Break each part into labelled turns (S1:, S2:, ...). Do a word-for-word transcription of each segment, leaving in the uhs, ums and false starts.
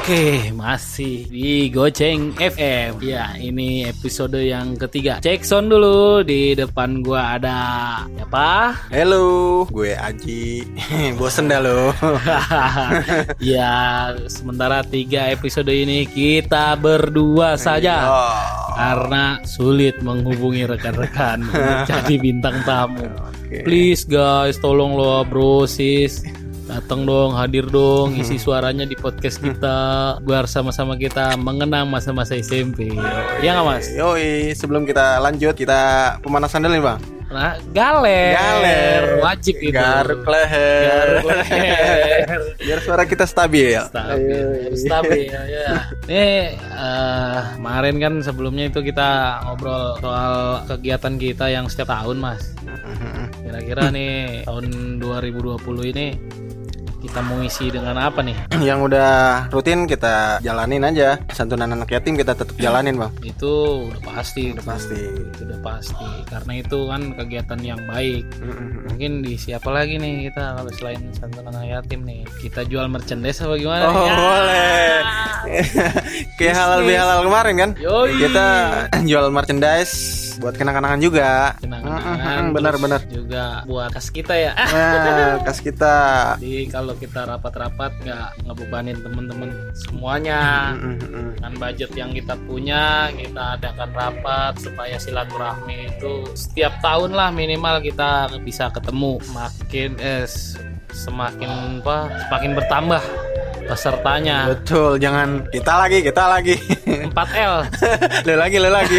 S1: Oke, masih di Goceng F M. Ya, ini episode yang ketiga. Cek sound dulu. Di depan gua ada siapa?
S2: Halo, gue Aji. Bosen dah lo.
S1: Ya, sementara tiga episode ini kita berdua saja.
S2: Oh.
S1: Karena sulit menghubungi rekan-rekan untuk jadi bintang tamu.
S2: Okay.
S1: Please guys, tolong lo bro sis. Datang dong, hadir dong, isi suaranya di podcast kita biar sama-sama kita mengenang masa-masa S M P. Iya nggak mas?
S2: Yoi, sebelum kita lanjut kita pemanasan dulu nih bang.
S1: Nah, galer,
S2: galer,
S1: wajib itu.
S2: Garuk leher,
S1: garuk leher.
S2: Biar suara kita stabil.
S1: Stabil, harus stabil ya. Nih, uh, kemarin kan sebelumnya itu kita ngobrol soal kegiatan kita yang setiap tahun mas. Kira-kira nih tahun dua ribu dua puluh ini kita mau isi dengan apa nih?
S2: Yang udah rutin kita jalanin aja. Santunan anak yatim kita tetap jalanin bang.
S1: Itu udah pasti,
S2: udah pasti,
S1: itu udah pasti. Karena itu kan kegiatan yang baik. Mungkin di siapa lagi nih kita kalau selain santunan anak yatim nih? Kita jual merchandise apa gimana?
S2: Oh ya. Boleh. Kayak halal bihalal kemarin kan?
S1: Yoi.
S2: Kita jual merchandise buat kenang-kenangan juga.
S1: Kenang-kenangan.
S2: Benar-benar.
S1: Juga buat kas kita ya.
S2: Nah, kas kita.
S1: Jadi kalau kita rapat-rapat nggak ngebebanin temen-temen semuanya.
S2: Mm-hmm.
S1: Dengan budget yang kita punya, kita adakan rapat supaya silaturahmi itu setiap tahun lah minimal kita bisa ketemu. Makin eh, semakin apa? Semakin bertambah pesertanya.
S2: Betul, jangan kita lagi, kita lagi.
S1: empat L.
S2: Lu lagi, lu lagi.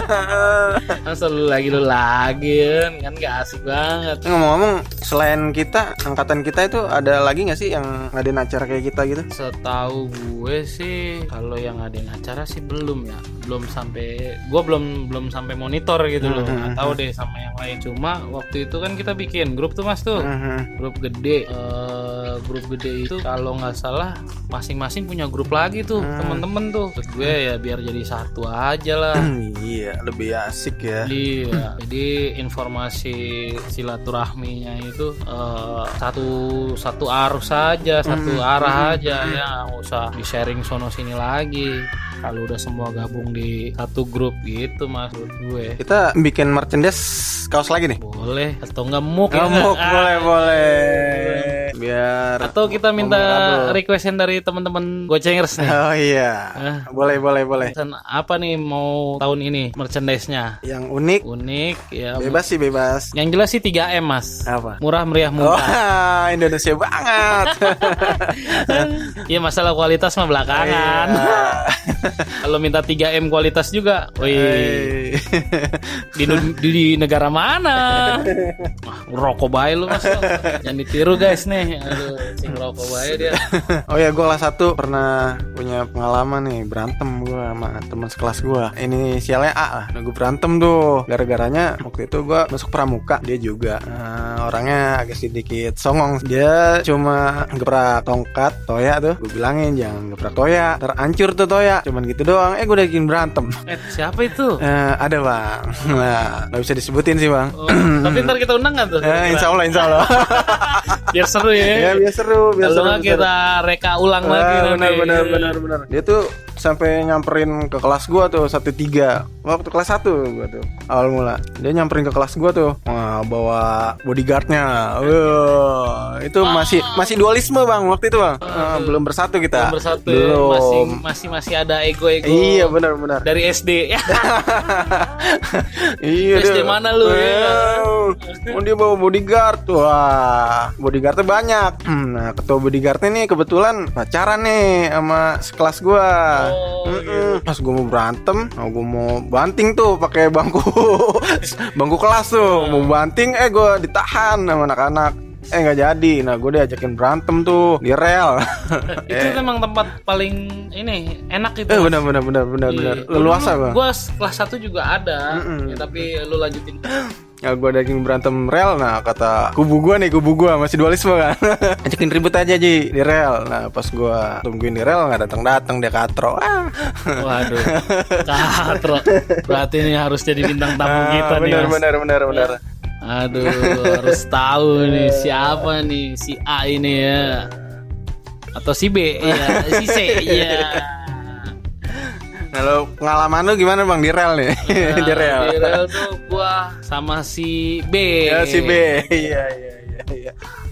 S1: Masa lu lagi, lu lagi kan gak asik banget.
S2: Ngomong-ngomong, selain kita, angkatan kita itu ada lagi gak sih yang ngadain acara kayak kita gitu?
S1: Setahu gue sih, kalau yang ngadain acara sih belum ya. Belum sampai, gue belum belum sampai monitor gitu loh.
S2: Mm-hmm.
S1: Nggak tahu deh sama yang lain. Cuma waktu itu kan kita bikin grup tuh mas tuh,
S2: Mm-hmm.
S1: grup gede. Uh, grup gede itu kalau nggak salah masing-masing punya grup lagi tuh,
S2: Mm.
S1: temen-temen tuh. Terus gue ya biar jadi satu aja lah.
S2: Iya, lebih asik ya.
S1: Iya, jadi informasi silaturahminya itu uh, satu satu arus saja, satu
S2: Mm.
S1: arah aja ya, nggak usah di sharing sono sini lagi. Kalau udah semua gabung di satu grup gitu maksud gue.
S2: Kita bikin merchandise kaos lagi nih.
S1: Boleh atau nggak muk ya?
S2: Ngemuk,
S1: Ah,
S2: boleh, boleh. Biar
S1: atau kita minta
S2: memorable.
S1: requestan dari teman-teman Gocengers nih.
S2: Oh iya.
S1: Ah.
S2: Boleh, boleh, boleh.
S1: Dan apa nih mau tahun ini merchandise-nya?
S2: Yang unik,
S1: Unik ya.
S2: bebas sih, bebas.
S1: Yang jelas sih tiga M mas.
S2: Apa?
S1: Murah meriah
S2: Oh,
S1: mudah.
S2: Indonesia banget.
S1: Iya masalah kualitas mah belakangan. Kalau minta tiga M kualitas juga, wih. Di, di, di negara mana? Wah, rokok bae lu mas. Jangan ditiru guys nih. Aduh, sing rokok bae dia.
S2: Oh ya, gue kelas satu pernah punya pengalaman nih, berantem gue sama teman sekelas gue. Inisialnya A lah. Nah, gue berantem tuh. Gara-garanya waktu itu gue masuk pramuka, dia juga. Nah, orangnya agak sedikit songong. Dia cuma gebrak tongkat Toya tuh. Gue bilangin jangan gebrak Toya, terancur tuh Toya. Cuman gitu doang. Eh gue udah bikin berantem.
S1: Eh siapa itu?
S2: Eh, ada bang. Nah, nggak bisa disebutin sih bang.
S1: Oh, tapi ntar kita undang nggak tuh?
S2: Eh, insya Allah, insya Allah.
S1: Biar seru ya.
S2: Ya biar seru, biar
S1: Kalau
S2: seru.
S1: nggak kita reka ulang lagi.
S2: Ah, benar,
S1: nanti.
S2: benar, benar, benar. Dia tuh sampai nyamperin ke kelas gua tuh satu tiga waktu kelas satu gua tuh awal mula. Dia nyamperin ke kelas gua tuh, wah, bawa bodyguardnya. Wah, itu masih masih dualisme bang waktu itu bang. Ah, belum bersatu kita.
S1: Belum bersatu.
S2: Belum.
S1: Masih masih masih ada ego-ego.
S2: Iya benar benar.
S1: Dari S D ya.
S2: Iya.
S1: S D
S2: dia.
S1: mana lu ya?
S2: Oh, dia bawa bodyguard. Wah, bodyguardnya banyak. Nah, ketua bodyguardnya nih kebetulan pacaran nih sama sekelas gua.
S1: Oh,
S2: Mm-mm. Pas gua mau berantem, nah gua mau banting tuh pakai bangku bangku kelas tuh, mau banting eh gua ditahan sama anak-anak. Eh nggak jadi, nah gue diajakin berantem tuh di rel.
S1: Itu memang tempat paling ini enak itu.
S2: Eh benar benar benar benar benar. Leluasa bang.
S1: Gue kelas satu juga ada,
S2: Mm-mm.
S1: ya, tapi lu lanjutin.
S2: Ya gue ajakin berantem rel, nah kata kubu gue nih, kubu gue masih dualisme kan. Ajakin ribut aja Ji di rel. Nah pas gue tungguin di rel nggak datang datang dia katro. Ah.
S1: Waduh, katro. Berarti ini harus jadi bintang tamu kita
S2: Ah,
S1: nih.
S2: benar
S1: Mas.
S2: benar benar benar.
S1: Aduh, harus tahu nih siapa nih si A ini ya. Atau si B, iya, si C, iya.
S2: Kalau pengalaman lu gimana Bang di rel nih?
S1: Nah,
S2: di rel.
S1: Di rel tuh gua sama si B.
S2: Ya si B. Iya iya iya iya.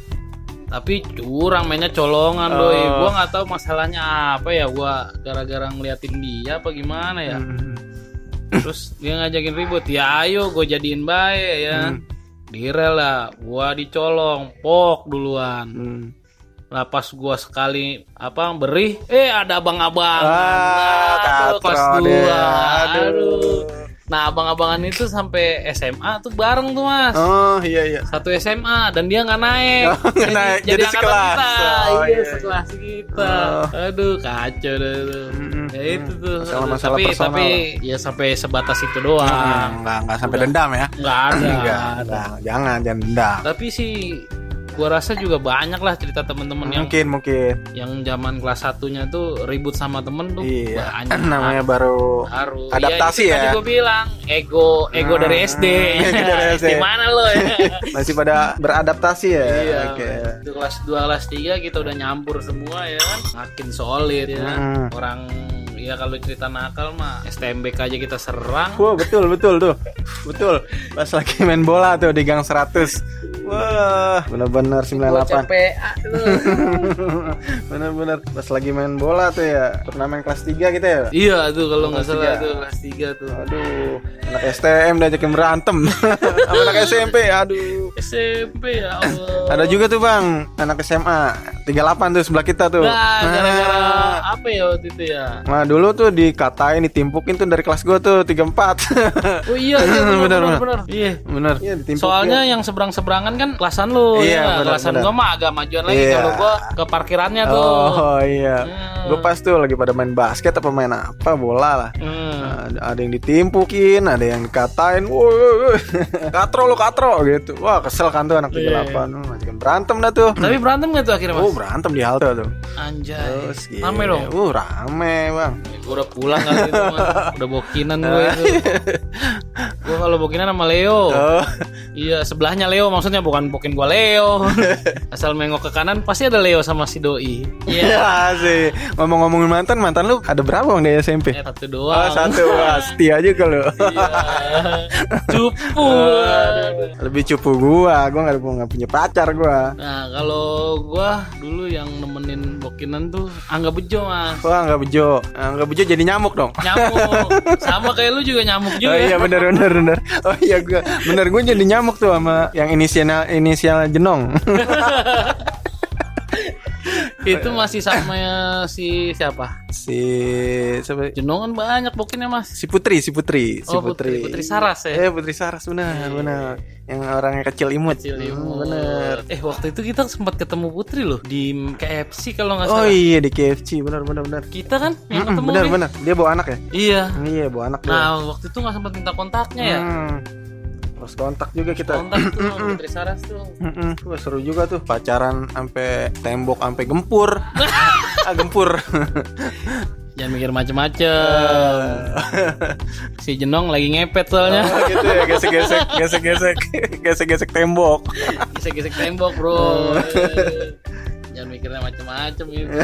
S1: Tapi curang mainnya colongan
S2: Oh.
S1: doi. Gua nggak tahu masalahnya apa ya. Gua gara-gara ngeliatin dia apa gimana ya.
S2: Hmm.
S1: Terus dia ngajakin ribut. Ya ayo gue jadiin baik ya.
S2: Hmm.
S1: Di rel lah. Gua dicolong, pok duluan.
S2: Hmm.
S1: Lah pas gua sekali apa beri, eh ada abang-abang.
S2: Ah,
S1: Nah, tuh kelas
S2: katro
S1: dua.
S2: deh.
S1: Aduh. Nah, abang-abangan itu sampai S M A tuh bareng tuh, Mas.
S2: Oh iya iya.
S1: Satu S M A dan dia nggak naik.
S2: Oh, nggak naik. Jadi
S1: angkatan
S2: sekelas.
S1: kita.
S2: Oh,
S1: iya,
S2: iya.
S1: sekelas kita.
S2: Oh.
S1: Aduh, kacau deh tuh.
S2: Mm-mm.
S1: Ya itu tuh.
S2: Masalah-masalah
S1: tapi
S2: personal.
S1: tapi ya sampai sebatas itu doang.
S2: Hmm, nggak nggak sampai
S1: Udah.
S2: dendam ya?
S1: Nggak ada.
S2: Nggak,
S1: nggak ada.
S2: nggak, jangan jangan dendam.
S1: Tapi sih gua rasa juga banyak lah cerita temen-temen yang
S2: Mungkin mungkin.
S1: yang zaman kelas satunya tuh ribut sama temen tuh
S2: Iya.
S1: banyak.
S2: Namanya baru
S1: Baru
S2: adaptasi
S1: itu
S2: ya.
S1: Tadi gue bilang ego ego
S2: Hmm,
S1: dari S D.
S2: ego dari S D.
S1: Gimana lo ya?
S2: masih pada beradaptasi ya.
S1: Iya.
S2: Oke.
S1: Itu kelas dua kelas tiga kita udah nyampur semua ya kan. Makin solid ya.
S2: Hmm.
S1: Orang ya kalau cerita nakal mah S T M B K aja kita serang.
S2: Wah betul betul tuh. Betul. Pas lagi main bola tuh di gang seratus. Wah, benar-benar sembilan puluh delapan.
S1: C P A tuh.
S2: Bener-bener pas lagi main bola tuh ya, turnamen kelas tiga kita ya.
S1: Iya tuh kalau nggak
S2: Kelas
S1: salah
S2: tiga.
S1: tuh kelas tiga tuh.
S2: Aduh, anak S T M diajakin berantem. Sama anak S M P, aduh.
S1: S M P ya Allah.
S2: Ada juga tuh Bang, anak S M A tiga puluh delapan tuh sebelah kita tuh.
S1: Nah, gara-gara
S2: Nah,
S1: apa ya waktu itu ya?
S2: nah, dulu tuh dikatain, ditimpukin tuh dari kelas gua tuh tiga puluh empat.
S1: Oh iya, iya benar,
S2: Bener,
S1: benar,
S2: bener.
S1: benar. Iya.
S2: Bener. Iya, ditimpukin.
S1: Soalnya yang seberang-seberangan kan kelasan lu
S2: Iya,
S1: ya.
S2: benar,
S1: Kelasan
S2: benar.
S1: gua mah agak majuan lagi.
S2: Iya.
S1: Kalau gua ke parkirannya tuh.
S2: Oh iya.
S1: Hmm.
S2: Gue pas tuh lagi pada main basket apa main apa bola lah.
S1: Hmm.
S2: Ada, ada yang ditimpukin, ada yang dikatain, woi, katro lo katro gitu. Wah kesel kan tuh anak tiga puluh delapan, oh, ngajakin berantem dah tuh.
S1: Tapi berantem gak tuh akhirnya, Mas?
S2: Oh berantem di halte tuh.
S1: Anjay.
S2: Terus gitu.
S1: Rame dong.
S2: Uh rame bang.
S1: Gua udah pulang kali itu, Mas. Udah bokinan gue itu. Gua kalau bokinan sama Leo.
S2: Oh,
S1: Iya, sebelahnya Leo maksudnya bukan bokin gua Leo. Asal mengok ke kanan pasti ada Leo sama si doi.
S2: iya sih. Ngomong-ngomongin mantan, mantan lu ada berapa bang di S M P?
S1: Eh, satu
S2: Oh
S1: doang.
S2: satu, wah, setia juga lu.
S1: Iya. Cupu.
S2: Lebih cupu gua, gua nggak nggak punya pacar gua.
S1: Nah, kalau gua dulu yang nemenin bokinan tuh Angga Bejo, Mas.
S2: Wah nggak bejo, Ah, nggak bejo jadi nyamuk dong.
S1: Nyamuk. Sama kayak lu juga nyamuk juga.
S2: Oh iya bener bener bener. Oh iya gua bener gua jadi nyamuk tuh sama yang inisial inisial Jenong.
S1: Itu masih sama ya, si siapa?
S2: si siapa?
S1: Jenongan banyak bokinnya, Mas.
S2: Si Putri, si Putri, si
S1: Oh, Putri. Putri Saras ya?
S2: Eh Putri Saras benar, benar. Yang orangnya kecil imut.
S1: Kecil
S2: Hmm,
S1: imut.
S2: bener.
S1: Eh, waktu itu kita sempat ketemu Putri loh di K F C kalau nggak
S2: Oh
S1: salah.
S2: iya di K F C, benar benar benar.
S1: Kita kan yang
S2: Mm-mm,
S1: ketemu
S2: benar
S1: nih.
S2: benar. Dia bawa anak ya?
S1: Iya.
S2: Iya bawa anak dia.
S1: Nah, waktu itu nggak sempat minta kontaknya ya.
S2: Hmm. Terus kontak juga kita.
S1: Kontak tuh sama Putri Saras tuh.
S2: Mm-mm. Wah, seru juga tuh pacaran sampai tembok sampai gempur. ah gempur.
S1: Jangan mikir macem-macem. Si Jenong lagi ngepet soalnya.
S2: Oh, gitu ya, gesek-gesek, gesek-gesek, gesek-gesek tembok.
S1: Gesek-gesek tembok, Bro. Eh, Jangan mikirnya macem-macem gitu.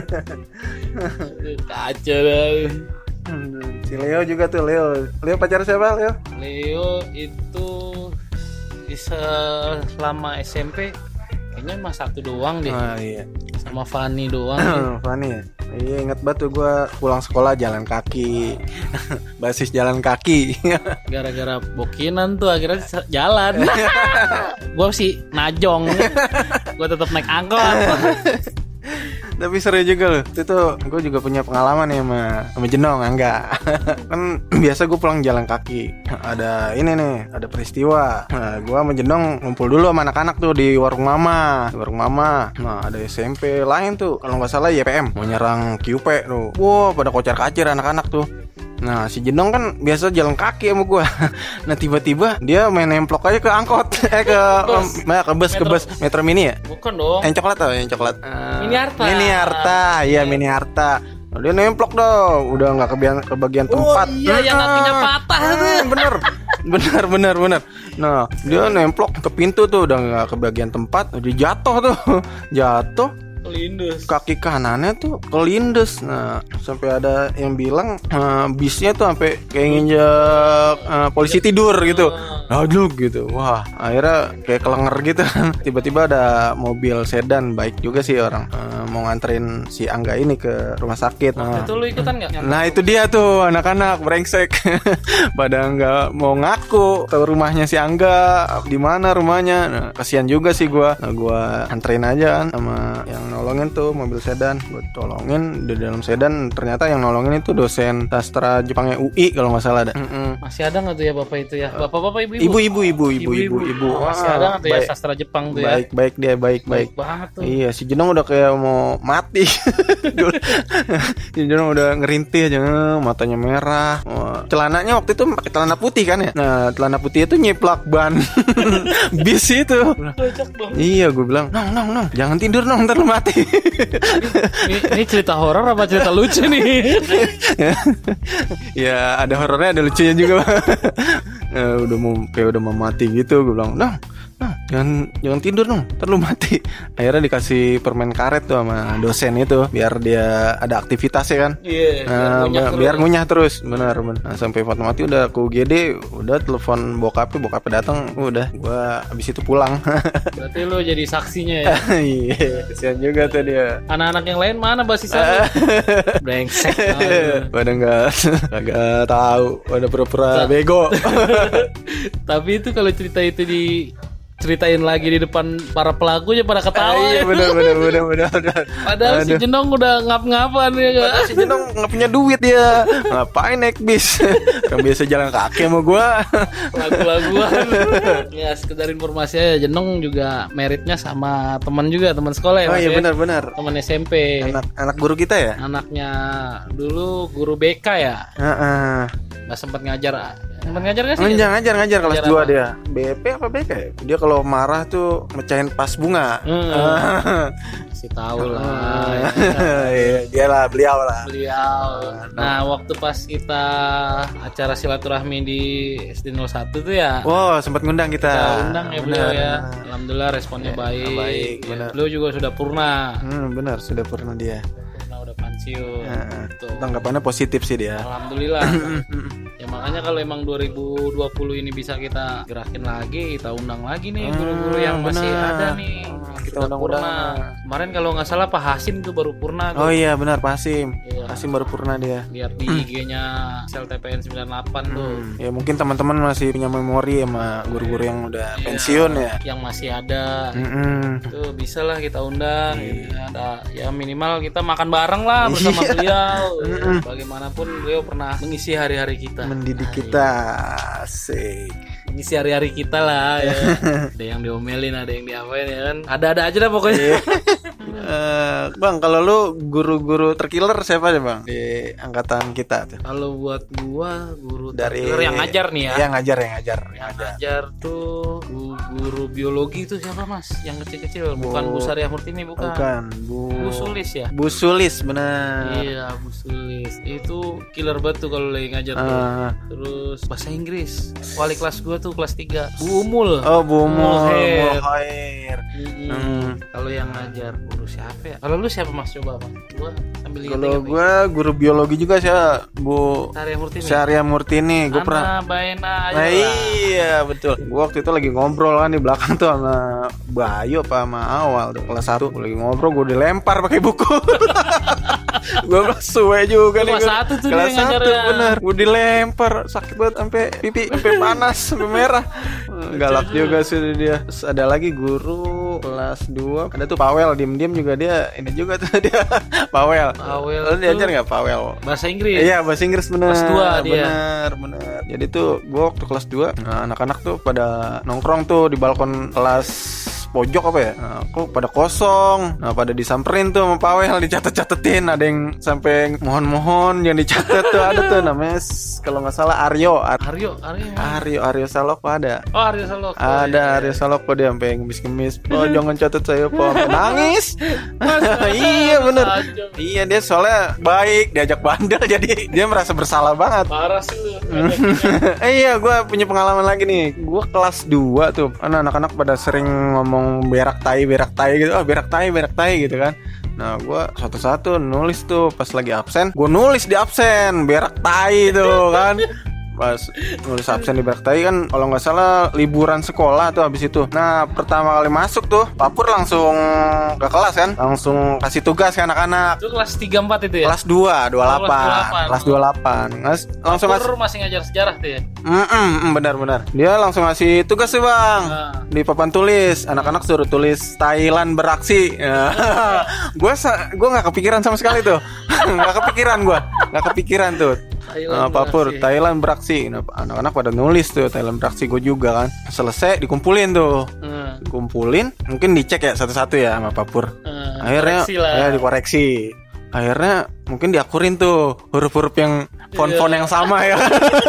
S1: Kacau dah.
S2: Hmm, si Leo juga tuh Leo. Leo pacar siapa Leo?
S1: Leo itu di selama S M P kayaknya mah satu doang deh.
S2: Oh iya.
S1: Sama Fanny doang deh.
S2: Fanny ya. Iya ingat banget tuh gue pulang sekolah jalan kaki. Basis jalan kaki.
S1: Gara-gara bokinan tuh akhirnya sa- jalan. Gue sih najong. Gue tetap naik angkot.
S2: Tapi seru juga loh. Itu tuh gue juga punya pengalaman ya sama sama Jenong, enggak. Kan biasa gue pulang jalan kaki. Ada ini nih, ada peristiwa. Nah, gue sama Jenong ngumpul dulu sama anak-anak tuh di warung mama. Di warung mama. Nah, ada S M P lain tuh. Kalau nggak salah Y P M mau nyerang Q P tuh. Wah, pada kocar-kacir anak-anak tuh. Nah si Jenong kan biasa jalan kaki sama gue. Nah tiba-tiba dia main nemplok aja ke angkot. Eh ke
S1: Bus.
S2: um, ke bus ke
S1: Metro.
S2: bus Metro Mini ya.
S1: Bukan dong.
S2: Yang coklat tau, yang coklat. Eh,
S1: Mini Harta.
S2: Mini Harta, iya Mini Harta. Nah, dia nemplok dong, udah nggak kebagian kebagian tempat.
S1: Oh iya, yang kakinya patah tuh.
S2: Hmm, bener, bener, bener, bener. Nah dia nemplok ke pintu tuh, udah nggak kebagian tempat, dia jatuh tuh, jatuh.
S1: Kelindes.
S2: Kaki kanannya tuh kelindes. Nah, sampai ada yang bilang uh, bisnya tuh sampai kayak nginjek uh, polisi tidur gitu. Aduh gitu. Wah, akhirnya kayak kelenger gitu kan. Tiba-tiba ada mobil sedan, baik juga sih orang uh, mau nganterin si Angga ini ke rumah sakit. Nah,
S1: itu lu ikutan nggak?
S2: Nah itu dia tuh anak-anak brengsek pada nggak mau ngaku ke rumahnya si Angga, di mana rumahnya. Nah, kasihan juga sih gua. Nah, gua anterin aja kan sama yang nolongin tuh mobil sedan. Gua tolongin di dalam sedan, ternyata yang nolongin itu dosen sastra Jepangnya U I kalau nggak salah ada. Mm-mm.
S1: Masih ada nggak tuh ya bapak itu ya? Bapak-bapak ibu-ibu.
S2: Ibu-ibu ibu-ibu ibu-ibu.
S1: Oh, masih ada nggak tuh ya sastra Jepang tuh ya?
S2: Baik baik dia baik baik.
S1: Baik banget tuh.
S2: Iya si Jenong udah kayak mau mati. Si Jenong udah ngerintih aja, matanya merah. Wah, celananya waktu itu pakai celana putih kan ya. Nah celana putih itu nyiplak ban bis itu. Iya gue bilang nong nong nong jangan tidur nong ntar lu mati.
S1: ini, ini cerita horor apa cerita lucu nih?
S2: Ya ada horornya ada lucunya juga. Ya, udah mau kayak udah mau mati gitu. Gue bilang nong nah, jangan jangan tidur dong, ntar lu mati. Akhirnya dikasih permen karet tuh sama dosen itu biar dia ada aktivitasnya kan.
S1: Iya.
S2: Nah, biar ngunyah terus. Biar ngunyah terus, benar benar. Nah, sampai Fatma mati udah ke U G D, udah telepon bokapnya, bokapnya datang, udah gua abis itu pulang.
S1: Berarti lu jadi saksinya ya.
S2: Iya, kesian juga tuh dia.
S1: Anak-anak yang lain mana basisan? Brengsek.
S2: Pada enggak enggak tahu, pada pura-pura bego.
S1: Tapi itu kalau cerita itu di ceritain lagi di depan para pelakunya pada ketawa.
S2: Iya benar benar benar benar.
S1: Padahal Aduh. si Jenong udah ngap-ngapan ya.
S2: Padahal si Jenong nggak punya duit dia. Ngapain naik bis? Kan biasa jalan kaki sama gua.
S1: Lagu-laguan. Ya sekedar informasi aja, Jenong juga meritnya sama teman juga, teman sekolah ya.
S2: Oh iya benar benar.
S1: Teman S M P.
S2: Anak anak guru kita ya?
S1: Anaknya dulu guru B K ya.
S2: Heeh.
S1: Nggak sempat ngajar. Sempat ngajar nggak sih?
S2: Ngajar ngajar ngajar kelas
S1: ngajar
S2: dua
S1: apa?
S2: dia. B P apa B K? Dia kalau marah tuh mecahin pas bunga.
S1: Hmm. Si tahu lah.
S2: Iya, dia lah beliau lah.
S1: Beliau. Nah, waktu pas kita acara silaturahmi di S D nol satu tuh ya.
S2: Wow, sempat ngundang kita.
S1: Kita undang ya beliau
S2: benar,
S1: ya.
S2: benar.
S1: Alhamdulillah responnya
S2: Ya,
S1: baik.
S2: baik,
S1: Ya,
S2: benar.
S1: beliau juga sudah purna.
S2: Hmm, benar, sudah pernah dia.
S1: Purna udah pensiun.
S2: Heeh.
S1: Gitu.
S2: Tanggapannya positif sih dia.
S1: Alhamdulillah. Ya makanya kalau emang dua ribu dua puluh ini bisa kita gerakin lagi, kita undang lagi nih guru-guru yang masih
S2: benar.
S1: ada nih.
S2: Kita
S1: Sudah
S2: undang-undang.
S1: purna. Kemarin kalau nggak salah Pak Hasim tuh baru purna.
S2: Oh
S1: tuh.
S2: iya benar Pak Hasim.
S1: Iya.
S2: Hasim baru purna dia.
S1: Lihat di I G-nya Sel T P N sembilan puluh delapan tuh.
S2: Hmm. Ya mungkin teman-teman masih punya memori sama guru-guru yang udah
S1: Iya,
S2: pensiun ya.
S1: Yang masih ada.
S2: Mm-mm.
S1: Itu bisa lah kita undang.
S2: Iya.
S1: Gitu. Ada ya minimal kita makan bareng lah bersama
S2: Iya.
S1: beliau.
S2: Mm-mm.
S1: Bagaimanapun beliau pernah mengisi hari-hari kita.
S2: Mendidik
S1: Nah,
S2: kita. Asik.
S1: Mengisi hari-hari kita lah ya. Ada yang diomelin, ada yang diapain ya kan. Ada-ada aja dah pokoknya.
S2: Eh, bang, kalau lu guru-guru terkiller siapa aja bang di angkatan kita tuh?
S1: Kalau buat gua guru
S2: Dari
S1: terkiller yang ngajar nih ya.
S2: Yang ngajar, yang ngajar, yang
S1: Yang
S2: ngajar.
S1: ngajar tuh gu- guru biologi itu siapa mas? Yang kecil-kecil, bukan Bu Sariah Murtini, bukan.
S2: Bukan, Bu.
S1: Bu Sulis ya.
S2: Bu Sulis benar.
S1: Iya, Bu Sulis. Itu killer banget tuh kalau lagi ngajar tuh.
S2: Ah.
S1: Terus bahasa Inggris. Wali kelas gua tuh kelas tiga. Bu Umul.
S2: Oh, Bu Mul,
S1: Mulkhair.
S2: Mulkhair.
S1: Mm-mm.
S2: Hmm.
S1: Kalau yang ngajar guru siapa ya? Kalau lu siapa mas, coba mas? Gua sambil lihat.
S2: Kalau gua guru biologi juga sih, Bu
S1: Sariah Murtini.
S2: Syaria Murtini. Gua pernah.
S1: Ana Baena aja
S2: Nah,
S1: lah.
S2: iya betul. Gua waktu itu lagi ngobrol kan di belakang tuh sama Bayu apa sama Awal tuh kelas satu. Gua lagi ngobrol, gua dilempar pakai buku. Gua kelas suwe juga nih.
S1: Kelas
S2: gua.
S1: satu tuh dia
S2: Kelas
S1: ngajar
S2: satu
S1: ya.
S2: bener. Gua dilempar sakit banget sampai pipi sampai panas sampai merah. Galak juga sih dia. Terus ada lagi guru kelas dua. Ada tuh Pawel, diem-diem juga dia. Ini juga tuh dia. Pawel.
S1: Pawel
S2: Lu diajar
S1: tuh
S2: enggak Pawel?
S1: bahasa Inggris.
S2: Iya bahasa Inggris bener.
S1: Kelas dua dia.
S2: Bener bener. Jadi tuh gue waktu kelas dua, nah, anak-anak tuh pada nongkrong tuh di balkon kelas pojok apa ya? Nah, kok pada kosong. Nah pada disamperin tuh sama Pawel, dicatet-catetin. Ada yang sampai mohon-mohon yang dicatet tuh ada tuh namanya s- kalau nggak salah Aryo. Ar-
S1: Aryo, Aryo.
S2: Aryo Aryo Saloko ada.
S1: Oh, Aryo Saloko.
S2: Ada
S1: ya.
S2: Aryo Saloko dia sampai ngemis-ngemis. Oh jangan catat saya Pak. Sampai nangis. Iya bener.
S1: Tajam.
S2: Iya dia soalnya baik, diajak bandel jadi dia merasa bersalah banget.
S1: Parah sih lu.
S2: Eh iya gue punya pengalaman lagi nih. Gue kelas dua tuh kan anak-anak pada sering ngomong berak tai berak tai gitu. Oh berak tai berak tai gitu kan. Nah gue satu-satu nulis tuh pas lagi absen. Gue nulis di absen berak tai tuh kan. Pas nulis absen di berak tai kan kalau nggak salah liburan sekolah tuh habis itu. Nah pertama kali masuk tuh Papur langsung ke kelas kan, langsung kasih tugas ke anak-anak.
S1: Itu kelas tiga empat itu ya?
S2: Kelas dua, dua puluh delapan. Kelas dua puluh delapan. Ngas, langsung
S1: Papur masih ngajar sejarah tuh ya?
S2: Mm-mm, benar-benar. Dia langsung ngasih tugas tuh bang. Nah. Di papan tulis, anak-anak suruh tulis Thailand beraksi. Gue gue nggak kepikiran sama sekali tuh. Nggak kepikiran gue, nggak kepikiran tuh. Thailand uh, Papur, beraksi. Thailand beraksi. Nah, anak-anak pada nulis tuh Thailand beraksi, gue juga kan. Selesai dikumpulin tuh, hmm. dikumpulin, mungkin dicek ya satu-satu ya sama Papur. Hmm, akhirnya ya dikoreksi. Akhirnya mungkin diakurin tuh huruf-huruf yang font-font yang sama ya.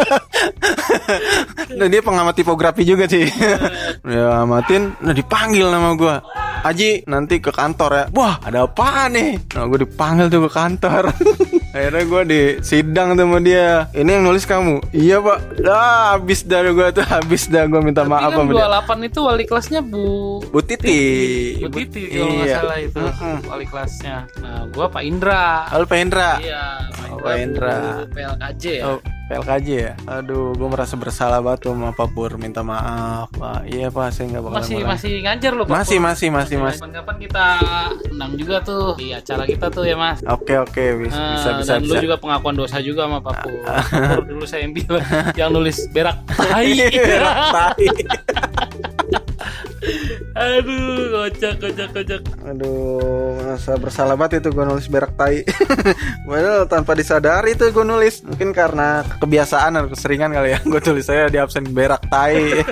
S2: Nah dia pengamat tipografi juga sih. Ya amatin, nah dipanggil nama gue. Aji nanti ke kantor ya. Wah ada apaan nih? Nah gue dipanggil tuh ke kantor. Akhirnya gue disidang tuh sama dia. Ini yang nulis kamu? Iya pak. Dah habis dah gue tuh habis dah gue minta
S1: tapi
S2: maaf
S1: kan
S2: sama dia.
S1: dua puluh delapan itu wali kelasnya Bu
S2: Bu Titi.
S1: Bu Titi kalau nggak iya. salah itu mm-hmm. wali kelasnya. Nah gue Pak Indra.
S2: Halo Pak Indra.
S1: Iya Pak Indra.
S2: Oh, Pak Indra.
S1: P L K J ya.
S2: Oh. P L K J ya. Aduh, gue merasa bersalah banget sama Pak Pur. Minta maaf, Pak. Iya Pak, saya nggak bakal.
S1: Masih
S2: marah.
S1: masih ngajar loh Pak.
S2: Masih, masih, masih, masih.
S1: Kapan-kapan kita undang juga tuh di acara kita tuh ya Mas.
S2: Oke, oke, bisa, uh, bisa, bisa.
S1: Dan bisa. Lu juga pengakuan dosa juga sama Pak Pur. Pak Pur dulu saya yang bilang, yang nulis berak tai.
S2: Berak tai.
S1: Aduh, kocak, kocak, kocak.
S2: Aduh, merasa bersalah banget itu gue nulis berak tai. Padahal tanpa disadari tuh gue nulis. Mungkin karena kebiasaan atau keseringan kali ya. Gue tulis saya di absen berak tai.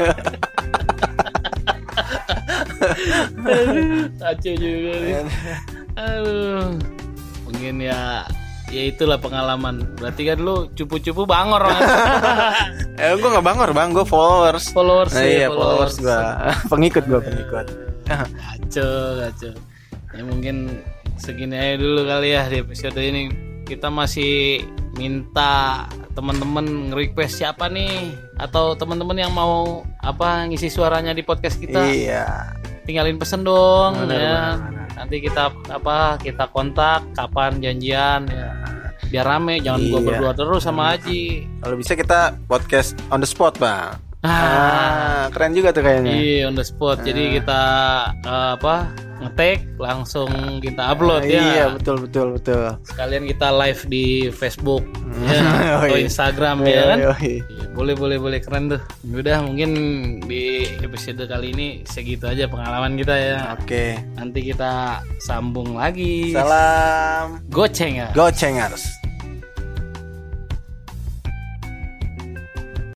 S1: Kacau juga nih. Aduh, mungkin ya. Ya itulah pengalaman. Berarti kan lu cupu-cupu bangor kan?
S2: Eh gue gak bangor bang, gue followers.
S1: Followers
S2: nah,
S1: ya,
S2: iya
S1: followers,
S2: followers gue. Pengikut gue pengikut.
S1: Kacau, kacau. Ya mungkin segini aja dulu kali ya di episode ini. Kita masih minta teman-teman nge-request siapa nih, atau teman-teman yang mau apa ngisi suaranya di podcast kita.
S2: Iya.
S1: Tinggalin pesen dong.
S2: Benar,
S1: ya.
S2: benar.
S1: Nanti kita apa kita kontak kapan janjian ya. Biar rame, jangan iya. gua berdua terus sama Aji.
S2: Kalau bisa kita podcast on the spot bang.
S1: Ah,
S2: ah keren juga tuh kayaknya.
S1: Iya on the spot. Ah. Jadi kita uh, apa ngetek langsung kita upload
S2: ah,
S1: ya.
S2: Iya betul betul betul.
S1: Sekalian kita live di Facebook ya, atau Instagram ya kan. Iya, boleh boleh boleh keren tuh. Udah mungkin di episode kali ini segitu aja pengalaman kita ya.
S2: Oke.
S1: Nanti kita sambung lagi.
S2: Salam
S1: Gocengers.
S2: Gocengers.